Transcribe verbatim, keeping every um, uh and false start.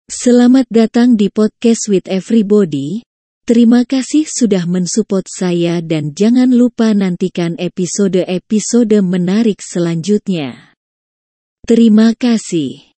Selamat datang di Podcast with Everybody. Terima kasih sudah mensupport saya dan jangan lupa nantikan episode-episode menarik selanjutnya. Terima kasih.